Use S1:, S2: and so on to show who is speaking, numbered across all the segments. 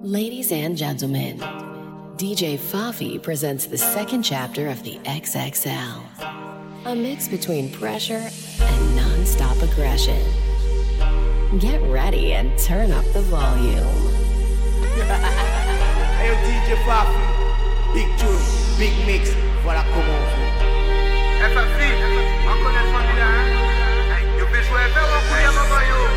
S1: Ladies and gentlemen, DJ Fafi presents the second chapter of the XXL, a mix between pressure and non-stop aggression. Get ready and turn up the volume.
S2: Hey DJ Fafi, big tune, big mix, voilà comment on fait.
S3: Fafi, on connaît famille hein? You peux jouer avec moi pour y avoir yo.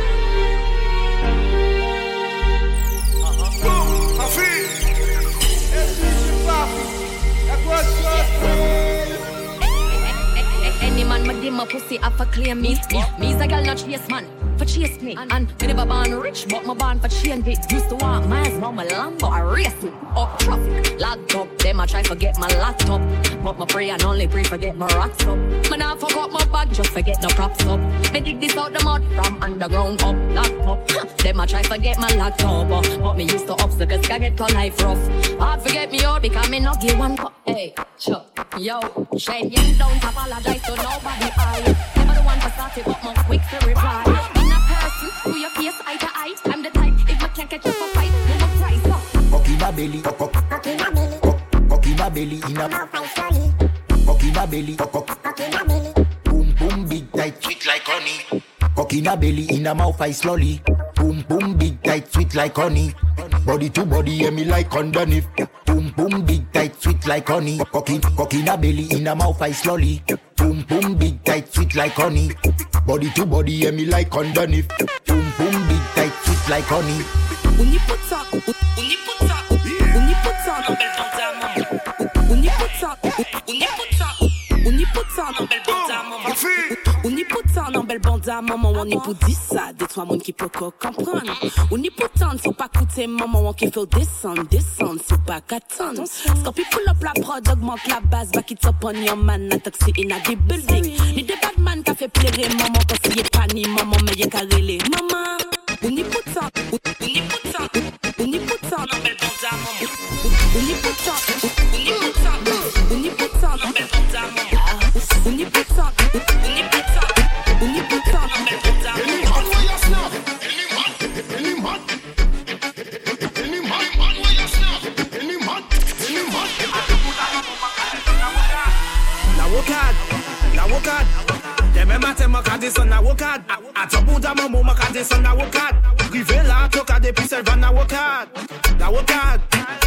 S4: Any man ma give my pussy up for claim me. Me's a girl not chase man for chase me. And me never born rich, but my born for change it. Used to want miles, mama Lambo, I race it up traffic. Locked up, them I try forget my laptop, but my pray and only pray forget my rocks up. Man I forgot my bag, just forget no props up. Me dig this out the mud from underground up, locked up. Them I try forget my laptop, but me used to obstacles can get called life rough. Hard forget me out because me not give one cup. Hey, sure, yo, shade you don't apologize to nobody. I never the one for start it, but more quick to reply. In a person, who your face eye to eye. I'm the type, if I can't catch up for fight, no more price up.
S2: Cocky my belly, cocky my belly, cocky my belly, in a mouth I slowly. Cocky my belly, cocky my belly. Boom boom big tight, sweet like honey. Cocky my belly, in a mouth I slowly. Boom boom big tight, sweet like honey. Body to body, yeah me like underneath. Boom boom big tight, sweet like honey. Cocky na belly, in a mouth I slowly. Boom boom big tight, sweet like honey. Body to body, yeah me like underneath. Boom boom big tight, sweet like honey.
S5: On y put ça, on y put ça, on y put ça dans belle bande à maman. On y put ça, on y put ça, on y put ça dans belle bande à maman. On y put ça dans belle bande à maman. On y put 10 ça, des trois monde qui peut comprendre. On y put ça, faut pas coûter maman. On qui fait descendre, c'est pas qu'attendre. Scorpio pull up la prod, augmente la base, back it up on your man, attaque in a the building. Ni des bad man qui fait plairer maman, quand c'est pas ni maman, mais y'a qu'à rêler maman. On y put ça, on y put ça, on y put ça dans belle bande à maman. On y put ça, on y put ça, on y put ça dans belle bande à maman. On y put ça, on y put ça, on y put ça dans belle bande à maman.
S2: La wokad. Demain matin, ma descend la wokad. À ton bout d'un moment, ma descend la wokad. Rivé là, toca depuis celle va la wokad. La wokad.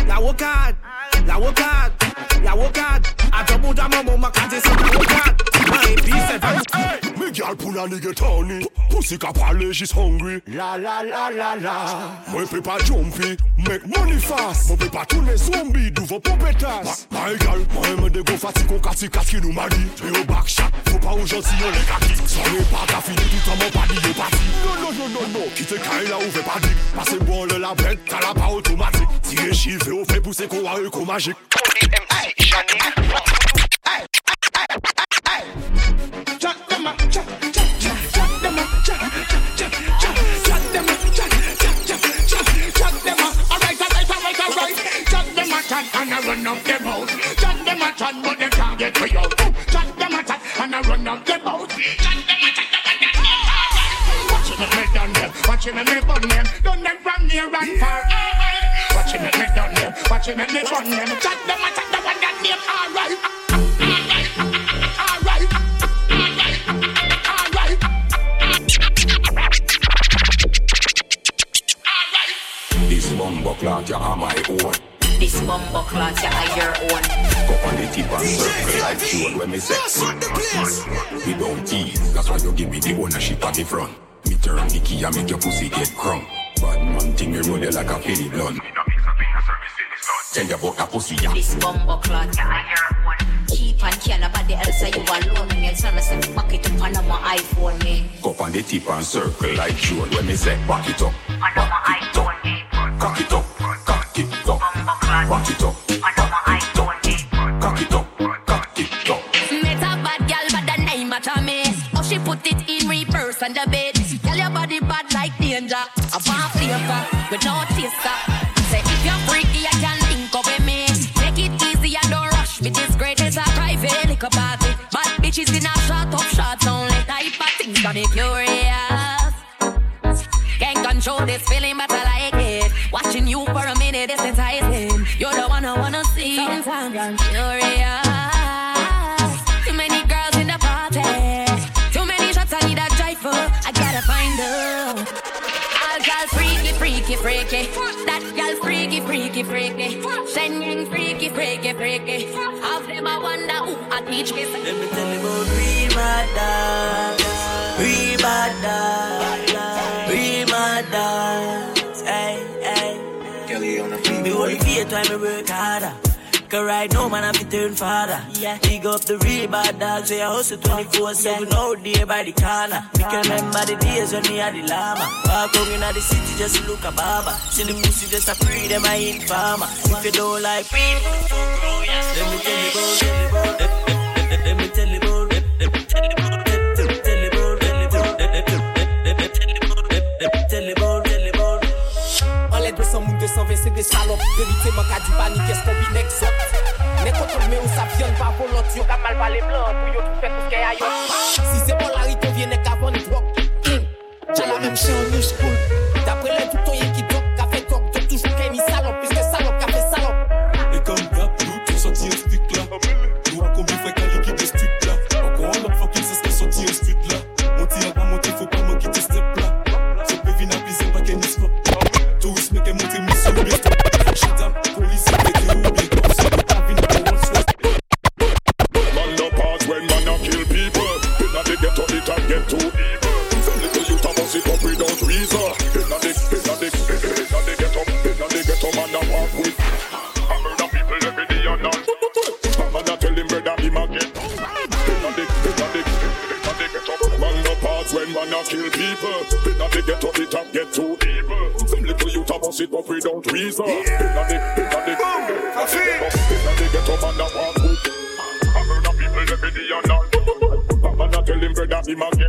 S2: À ton bout d'un moment, ma descend la wokad. Et puis celle va.
S6: Me girl pull a nigga Tony. Pussy ka parle, she's hungry. La. Moi peut pas jumpy, make money fast. Moi peut pas tourner zombie, d'ouvre pompetas. My girl, moi me de go fatigue au kati qui nous m'a dit. T'es au back shot, faut pas aux gentils on les kaki. Ça n'est pas ta fini, tout en mon pas dit est parti. Non. Quitte Kyle là où fait pas dit. Passez bon le la bête, t'as la pas automatique. Tirer chiffre au fait pousser qu'on a eu magique.
S7: And I run up them out. Chat them a chat, but they can't get me out. Chat them a chat, and I run up them out. Chat them a chat, but they can't. Watch him make me done them. Watch him make me burn them. Done them from near and far. Watch him make me done them. Watch him make me burn them. Chat them a chat, the one that name alright.
S6: This bumbo clock you are my own.
S4: This bumbo clock you are your own.
S6: Go on the tip and circle like June when me sex. We don't tease, that's why you give me the ownership at the front. Me turn the key and make your pussy get crumb. Bad man thing you roll you like a Philly blunt. Tell you about a pussy ya.
S4: This bumbo clock you are your own. Keep and care nobody else so you alone. Me and son say fuck it up on my iPhone me.
S6: Go on the tip and circle like June when me say back it up. Back it up. Cock it up. Cock it up. Back it up. Cock it up. Cock it up.
S4: Met a bad girl but the name matter me. Oh she put it in reverse on the bed. Tell your body bad like danger. A bar flavor with no taster. Say if you're freaky you can link up with me. Take it easy and don't rush me. This great is a private liquor party. Bad bitches in a shot up shots only. Type of things got me curious. Can't control this feeling but I like it. Watching you for time. Furious. Too many girls in the party. Too many shots, I need a driver. I gotta find her. All girls freaky, freaky, freaky. That girl freaky, freaky, freaky. Shenyang freaky, freaky, freaky. Of them I wonder who I teach kiss.
S8: Let me tell you about real bad dogs. Real bad dogs. Real bad dogs. Hey, hey. Me only fear time I work harder. Cause right now man I fi turn father. Yeah. Big up the real bad dogs. So I hustle 24/7 all day by the corner. Me can remember the days when me had the llama. Walk out in the city just to look a barber. See the pussy just a free them I ain't farmer. If you don't like me, let me tell you about. Let me tell you about.
S9: C'est des salopes, vérité manque à du panique, qu'est-ce qu'on vit n'exote. N'est contre mais on s'avienne pas volonté, on a mal parlé blanc, pour yo tout fait tout ce qu'il y a ailleurs. Si c'est bon la rite, on vient qu'avant les drogues. J'ai la même chien en new school. D'après les tout ton qui doc, qu'a fait doc, donc toujours qu'elle est salope, puisque salope, qu'a fait salope.
S6: Et comme d'hab, nous tous sortis un stick là. Nous à combien fait qu'à l'équipe de stick là. Encore un autre fucking c'est ce qu'est sorti un stick là. Monter à pas monter, faut pas manquer tes steps là. Ce peut venir appuyer pas qu'elle n'y soit. Tourisme qui est monté, mission bien. Shadam, police, man no pause when man a kill people. Inna the ghetto it and get too evil. Some little youth a bust it up without reason. Inna the ghetto man a walk with. I murder people every day and night. Man a tell him brother him again. Inna the ghetto man no pause when man a kill people. Inna the ghetto it and get too evil. Some little youth a bust it up without reason. Inna the ghetto man a walk with. I murder people every day and night. Man a tell him brother him again.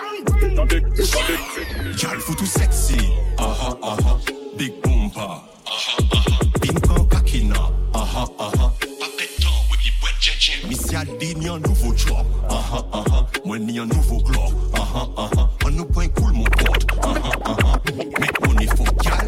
S10: Girl for too sexy. Aha aha. Big boompa. Aha aha. Pink en kakina. Aha aha. Papetan with the wet jet. Missy Aldi ni un nouveau job. Aha aha. Moi ni un nouveau club. Aha aha. On nous point cool mon pote. Aha aha. Mais on est faux gal.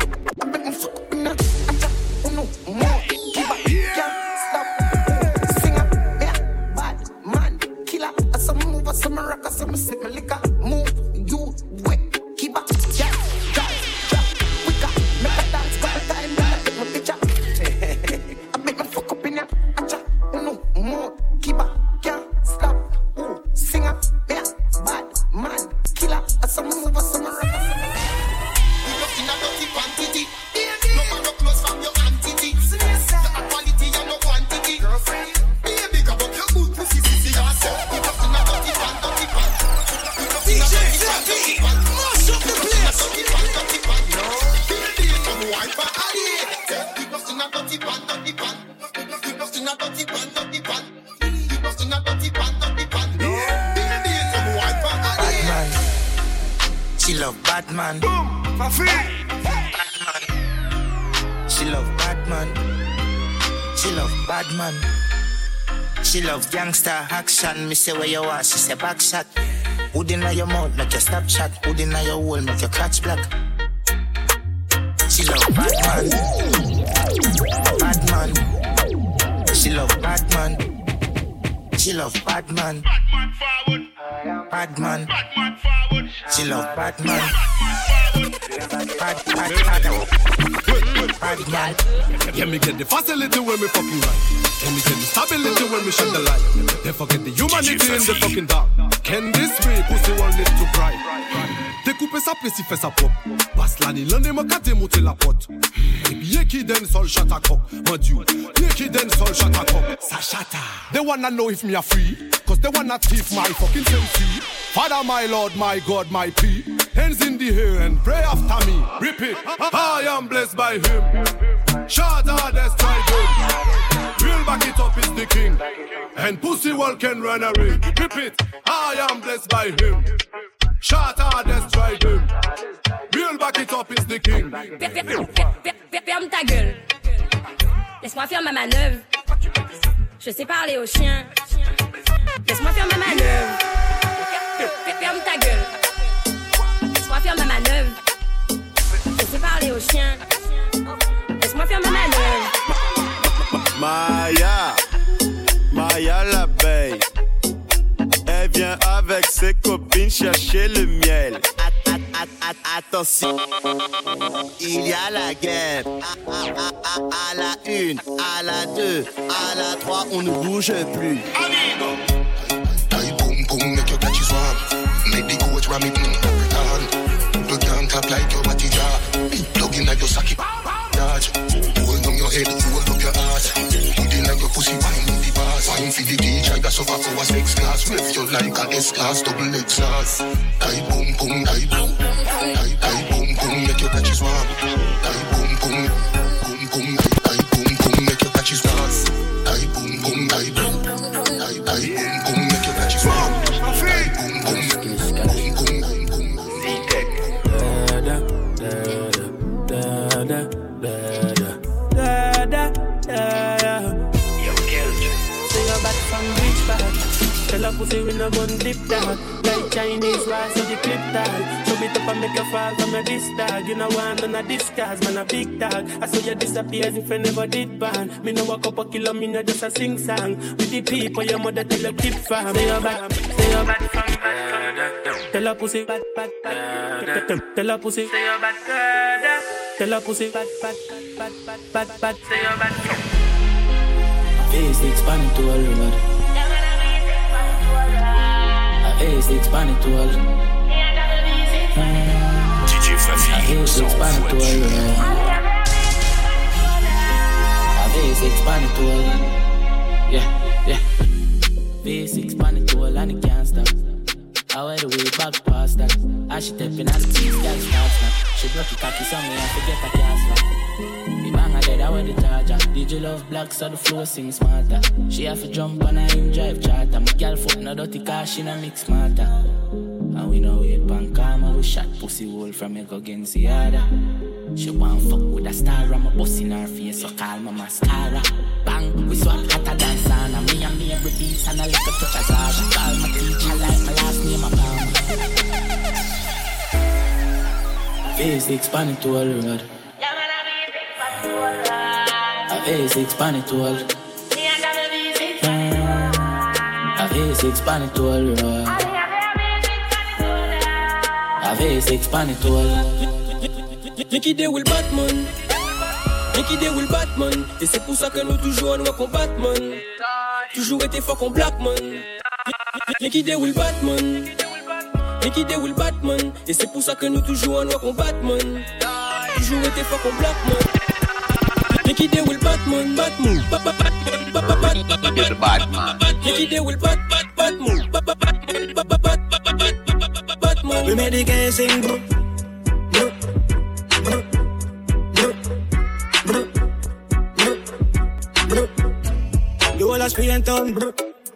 S9: Some rock, some sip my liquor. Move, you wet, keep up, yeah, drop, quicker, make a dance, got a time, I take my picture. I make my fuck up in ya, acha, no more, keep up, can't stop. Ooh, singer, yeah, bad man, killer, some move, some rock, some. You look in a dirty quantity, no matter close from your entity. The quality and no quantity, girlfriend. Baby, go up your good pussy, see yourself. She love Batman. She love Batman. She love Batman. She love gangster action. Me say where you are, she say back shot. Hood inna your mouth, make you stop shot. Hood inna your hole, make your crotch black. She love Batman. Batman. She love Batman. She love Batman. Batman. She love Batman. Batman.
S6: Yeah, me get the facility when me fucking right. Can me get the stability when me shut the light. They forget the humanity in the fucking dark. Can this way pussy one lit to bright? Découper sa place, il fait sa pop. Passe l'année, l'année m'a gâté monter la pote. Et bien qui donne sol chat à coq. Mon dieu, bien qui donne sol chat à coq. Ça chata. They wanna know if me a free. Cause they wanna thief my fucking sensi. Father, my Lord, my God, my P. Hands in the air and pray after me. Repeat, I am blessed by him. Shut out, destroy him. Real back it up is the king. And pussy well can run away. Repeat, I am blessed by him. Shut out, destroy him. Real back it up is the king.
S4: Ferme ta gueule. Laisse-moi faire ma manœuvre. Je sais parler aux chiens. Laisse-moi faire ma manœuvre. Ferme ta gueule. Laisse-moi faire ma manœuvre. Je sais parler aux chiens. Laisse-moi faire ma manœuvre.
S11: Maya. vient avec ses copines chercher le miel. Attention, il y a la guerre. À la 1, à la 2, à la 3, on ne bouge plus.
S7: Amigo. Boom boom, make your catchy swap. Make the coach ram it in return. You can't clap like your body jar. Plug in at your socket. Dodge. Hold on your head, hold up your ass. Put in like your pussy, wine in the bars. Wine for the DJ, that's over for a 6 class. Rev you like a S-class, double X-class. Die boom boom, die boom. Die boom boom, make your catchy swap. Die boom boom, boom boom, die boom boom, make your catchy swap. Die boom boom, die boom. Die boom boom, make your catchy swap. Die boom boom, boom boom, boom boom.
S12: Tell her pussy we no gun dip dog. Like Chinese rice so the clip dog. Show it up and make you fall from a disc dog. You know want none of this cause man a big dog. I saw you disappear as if I never did ban. Me no walk up a kilo, me no just a sing song. With the people your mother tell you keep farm. Stay your bad from. Tell her pussy bad. Tell her pussy stay your bad. Tell her pussy bad. Stay your bad from. Face expanded to all road. Face expanded to all.
S10: DJ Fafi,
S12: face expanded to all. Face expanded to all. Yeah. Face expanded to all and it can't stop. I wear the way back past that. As she tapping at the cheese, girl starts now. She broke the cocky on me and forget her cast now. The bang dead, I wear the charger. DJ love black so the flow sing smarter. She have to jump on her in drive charter. My girl foot no dirty car, she no mix smarter. And we know it pan karma. We shot pussy hole from Ego Genziada. She want fuck with a star. I'm a bust in her face so call my mascara. Bang, we swap hotter than sauna. Me and me every beats and a little touch of Zara. Call my teacher like my last name a Palmer. Face expanded to all road. Face expanded to all. Face expanded to all road. Face expanded to all.
S13: Nicky Day will Batman. Nicky Day will Batman. Et c'est pour ça que nous toujours on voit qu'on Batman. Toujours été fort qu'on Blackman. Nicky Day will Batman. Nicky Day will Batman. Et c'est pour ça que nous toujours on voit qu'on Batman. Toujours été fort qu'on Blackman. Nicky Day will Batman. Batman. Nicky Day will Batman. Batman. We made the guy sing bro. You all ask me and turn bro.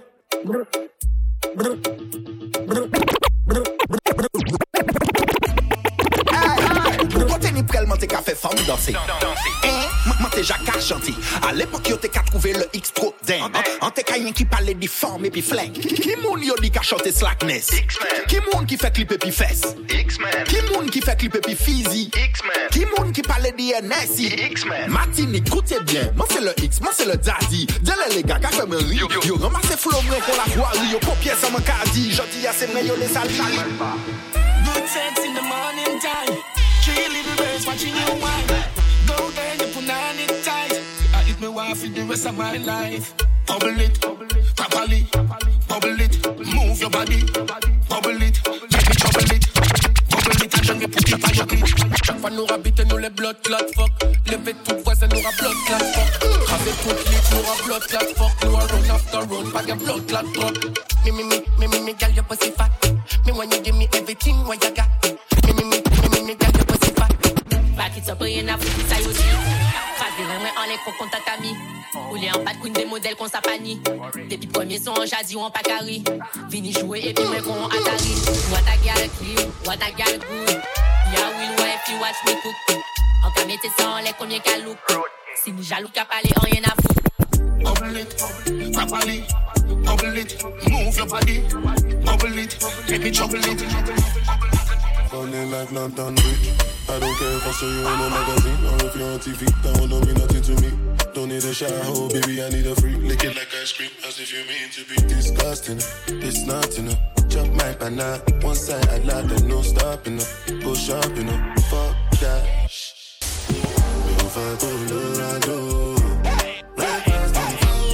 S2: Côté ni prel monte ka fait femme danser. Moi t'es Jacques chanté. À l'époque yo t'es qu'à trouver le X trop dingue. En t'es qu'un qui parlait des formes et puis flingue. Qui moun yo dit qu'à chanter slackness. Qui moun qui fait clip et puis fesse. Qui moun qui fait clip et puis physique. Qui moun qui parlait d'INSI. Martinique, écoutez bien. Moi c'est le X, moi c'est le daddy. Dis les gars, qu'a fait me rire. Yo ramassez flow moi pour la voirie. Yo copier ça mon caddie. Jodi à c'est vrai yo les salles.
S13: Good sex in the morning time. 3 little birds watching you wine. Go girl, you put on it tight. I eat me wife for the rest of my life. Bubble it, properly. Bubble it, move your body. Bubble it, make me trouble it. Bubble it, and then you put it on your clit. Chaque fois nous rabite nous les blood clot fuck. Lever tout voisin nous a blood clot fuck. Avec tout lit nous a blood clot fuck. Nous a run after run, pas de blood clot drop. Me, girl, your pussy fat. Me when you give me everything what you got. Me, girl, your pussy fat.
S4: Back it up, y'en a foutu ça aussi. Crasé vraiment en les faux contacts amis. Roulé en bas de couine des modèles qu'on s'apanie. Depuis premiers sont en jazzy ou en pacari. Vini jouer et puis moi qu'on Atari. What a girl clean, what a girl good. Yeah, will wife, you watch me cook. En cas mettez ça en les combien qu'à look. Si ni jaloux qu'à parler, en rien à foutre.
S7: Bubble it, properly. Bubble it, move your body. Bubble it, make me trouble it.
S6: Running like London Bridge. I don't care if I show you in a magazine or if you're on TV. That one don't mean nothing to me. Don't need a shower, baby, I need a freak. Lick it like ice cream, as if you mean to be disgusting. It's not enough.
S14: Jump my banana, one side I like the no stopping up. Go shopping up, fuck that. If I go Colorado, right past the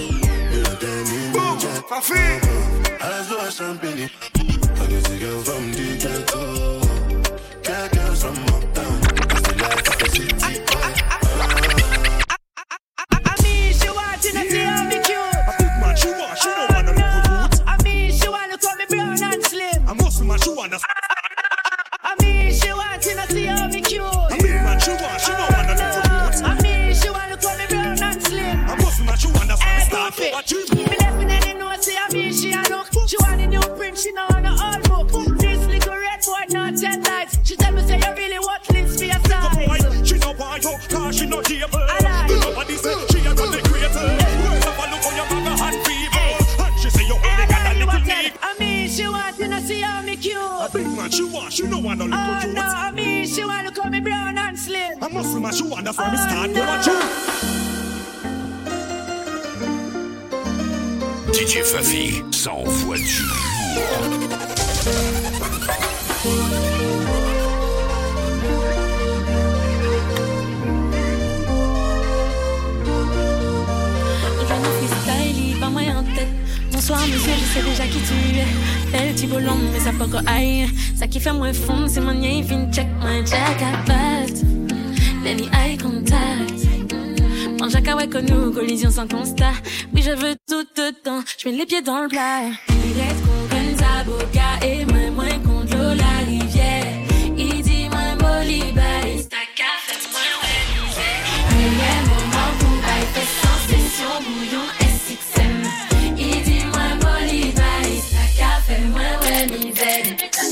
S14: phone, as though I champagne. I guess you girl from the ghetto, got girls from uptown. That's the life of the city boy.
S15: I mean, she wanting to see how me cute.
S6: A big man, she want, she don't wanna look good.
S15: I mean, she want to call me brown and slim.
S6: A muscle man, she wanna.
S15: I mean, she wanting to see how me cute.
S6: A big man, she want, she don't wanna look good.
S15: I mean, she want to call me brown and slim.
S6: A muscle man, she wanna start for what you.
S15: Me definitely know, see, I mean, she a look. She want a new print, she know on a old book. This little red boy, not 10 lights. She tell me, say, you really want this for your size.
S6: She don't want you, cause she not able. Nobody say she a run the creator. Words of a look on your mother hand feeble. And she say you only got a little need.
S15: I mean, she want to see how me cute.
S6: A big man, she want, she don't want no little cute.
S15: No, I mean, she want to call me brown and slim.
S6: A muscle man, she want from the start for what you.
S16: DJ Fafi, ça envoie du lourd.
S17: Pas moi en tête. Bonsoir monsieur, je sais déjà qui tu es. Belle petit bolon, mais ça peut aïe. Ça qui fait moins fond, c'est mon nez, fin check, my jack at best. Any eye contact. Mange à kawaii que nous, collision sans constat. Oui, je veux tout dedans, je mets les pieds dans le plat. Il reste qu'on gagne sa boca et moins contre l'eau, la rivière. Il dit moins bolibaïs, ta café, moins ouais, misère. Meilleur moment pour bail, fait sans session, bouillon, SXM. Il dit moins bolibaïs, ta café, moins ouais, misère.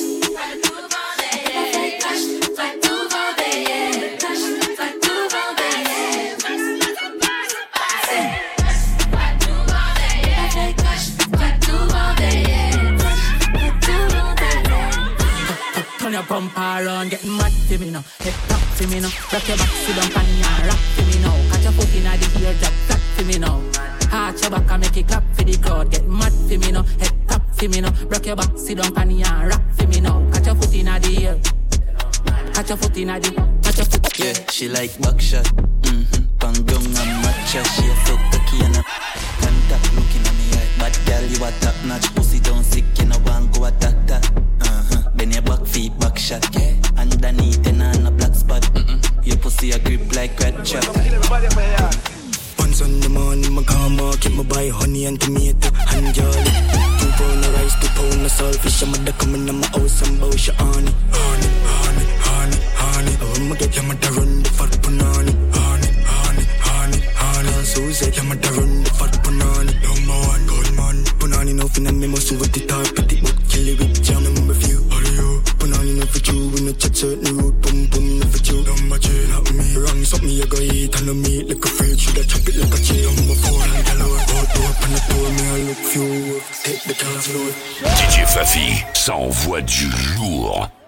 S12: Your pump around, getting mad to me now. Head top to me now. Rock your back, sit down, pan and rock to me now. Catch your foot in the ear, drop flat to me now. Arch your back and make it clap for the crowd. Get mad to me now. Head top to me now. Rock your back, sit down, pan and rock to me now. Catch your foot in the ear. Catch your foot in the. Catch your foot.
S18: Yeah, she like buckshot. Bang down and matcha. She a so cocky and a contact looking at me eye. Bad girl, you a top notch. Pussy down sick, you know one go attack that. Then your back feet back shot, yeah. Underneath and on a black spot. Your pussy a grip like red chop.
S19: Once on the morning, my car market, my buy honey and tomato and jolly. 2 pound of rice, 2 pound of saltfish. I'm a coming in my house and bow your honey. Honey. I want to get your mother run the fat punani. Honey. So say your mother run the fat punani. Number 1 gold man. Punani no fin and me must over the top. Petit but kill it with jam. Number few. Punani no for you. We no chat certain road. Boom no for you. Number 3 not me. Wrong something you go eat and no meat like a fridge. Should I chop it like a chain. Number 4 and the load. Open the door me I look few. Take the dance load.
S16: DJ Fafi, ça envoie du lourd.